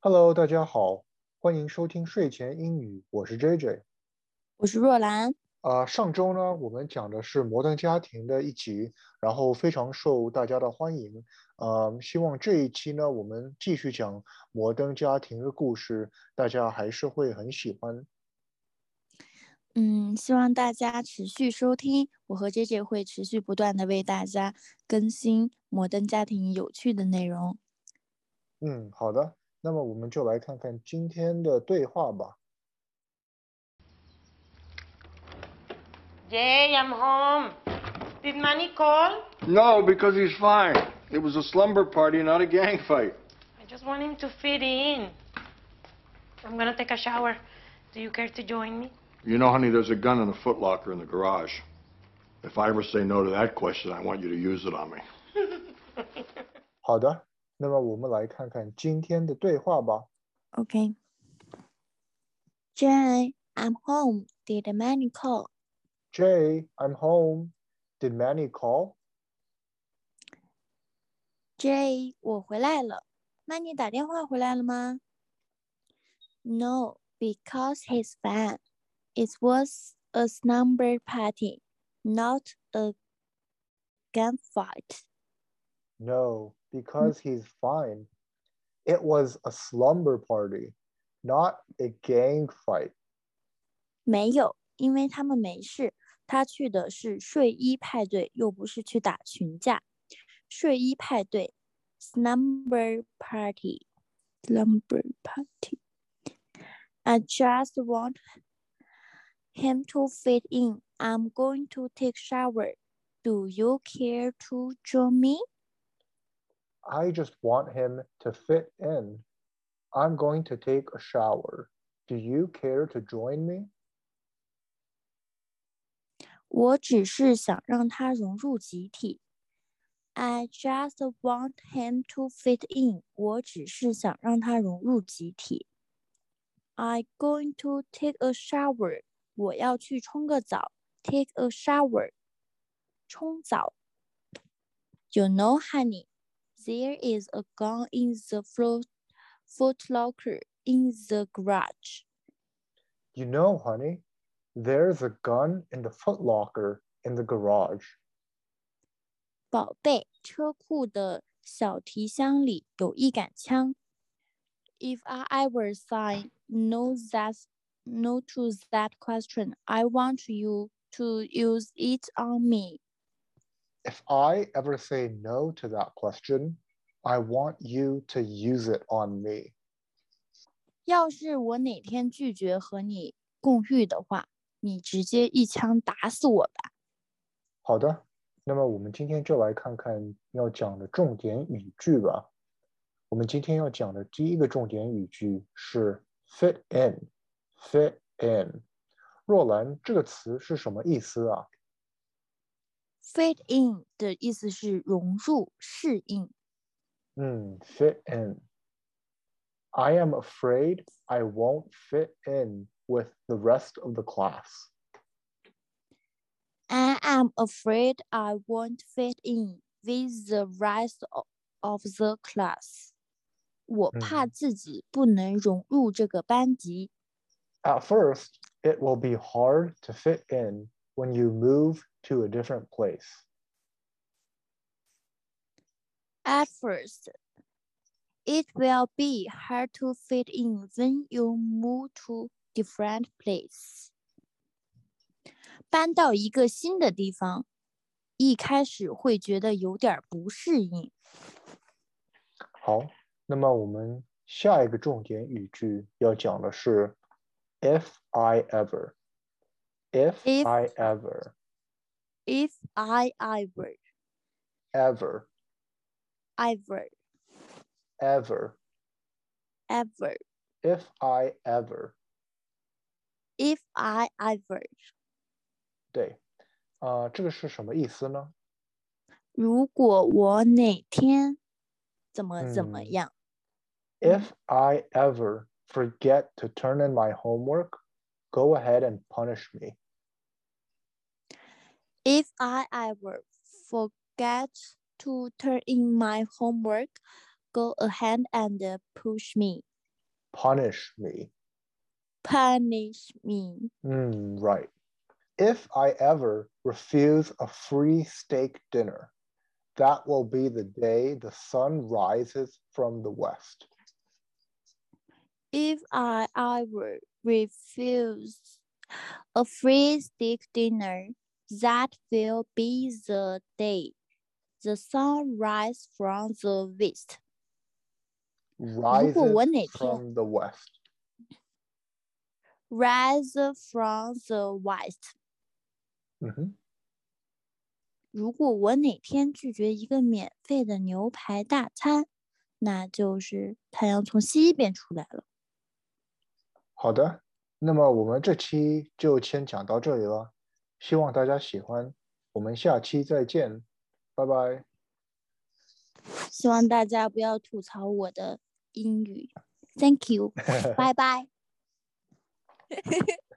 Hello，大家好，欢迎收听睡前英语，我是 JJ。 我是若兰。 上周呢，我们讲的是《摩登家庭》的一集，然后非常受大家的欢迎。希望这一期呢，我们继续讲《摩登家庭》的故事，大家还是会很喜欢。 希望大家持续收听，我和 JJ 会持续不断的为大家更新摩登家庭有趣的内容。 嗯，好的，那么我们就来看看今天的对话吧。 Jay, I'm home. Did Manny call? No, because he's fine. It was a slumber party, not a gang fight. I just want him to fit in. I'm gonna take a shower. Do you care to join me? You know, honey, there's a gun in a footlocker in the garage. If I ever say no to that question, I want you to use it on me. 好的，那么我们来看看今天的对话吧。 OK。Jay, I'm home. Did Manny call? Jay, I'm home. Did Manny call? Jay, 我回来了。Manny 打电话回来了吗？No, because he's fine. It was a slumber party, not a gunfight. No, because he's fine. It was a slumber party, not a gang fight. 没有，因为他们没事。他去的是睡衣派对，又不是去打群架。睡衣派对 （slumber party），slumber party。I just want him to fit in. I'm going to take shower. Do you care to join me? I just want him to fit in. I'm going to take a shower. Do you care to join me? 我只是想让他融入集体。I just want him to fit in. 我只是想让他融入集体。I'm going to take a shower. 我要去冲个澡。Take a shower. 冲澡。You know, honey, there is a gun in the foot locker in the garage. You know, honey, there's a gun in the footlocker in the garage. 宝贝，车库的小提箱里有一杆枪。If I ever say no to that question, I want you to use it on me. If I ever say no to that question, I want you to use it on me. 要是我哪天拒绝和你共浴的话，你直接一枪打死我吧。 好的，那么我们今天就来看看要讲的重点语句吧。我们今天要讲的第一个重点语句是 fit in。fit in。若兰，这个词是什么意思啊？ Fit in 的意思是融入、适应。 fit in。I am afraid I won't fit in with the rest of the class. I am afraid I won't fit in with the rest of the class. 我怕自己不能融入这个班级。 At first, it will be hard to fit in when you move to a different place. At first, it will be hard to fit in when you move to different place. 搬到一个新的地方，一开始会觉得有点不适应。 好，那么我们下一个重点语句要讲的是 if I ever。if If I ever if I ever ever ever ever ever if I ever if I ever 对，这个是什么意思呢？ 如果我哪天怎么样。 If I ever forget to turn in my homework, go ahead and punish me. If I ever forget to turn in my homework, go ahead and push me. Punish me. Punish me. Right. If I ever refuse a free steak dinner, that will be the day the sun rises from the west. If I ever refuse a free steak dinner, that will be the day the sun rises from the west. Rises 如果我哪天 from the west. Rise from the west. 如果我哪天拒绝一个免费的牛排大餐，那就是太阳从西边出来了。 好的，那么我们这期就先讲到这里了，希望大家喜欢，我们下期再见，拜拜。 希望大家不要吐槽我的英语。Thank you，拜拜。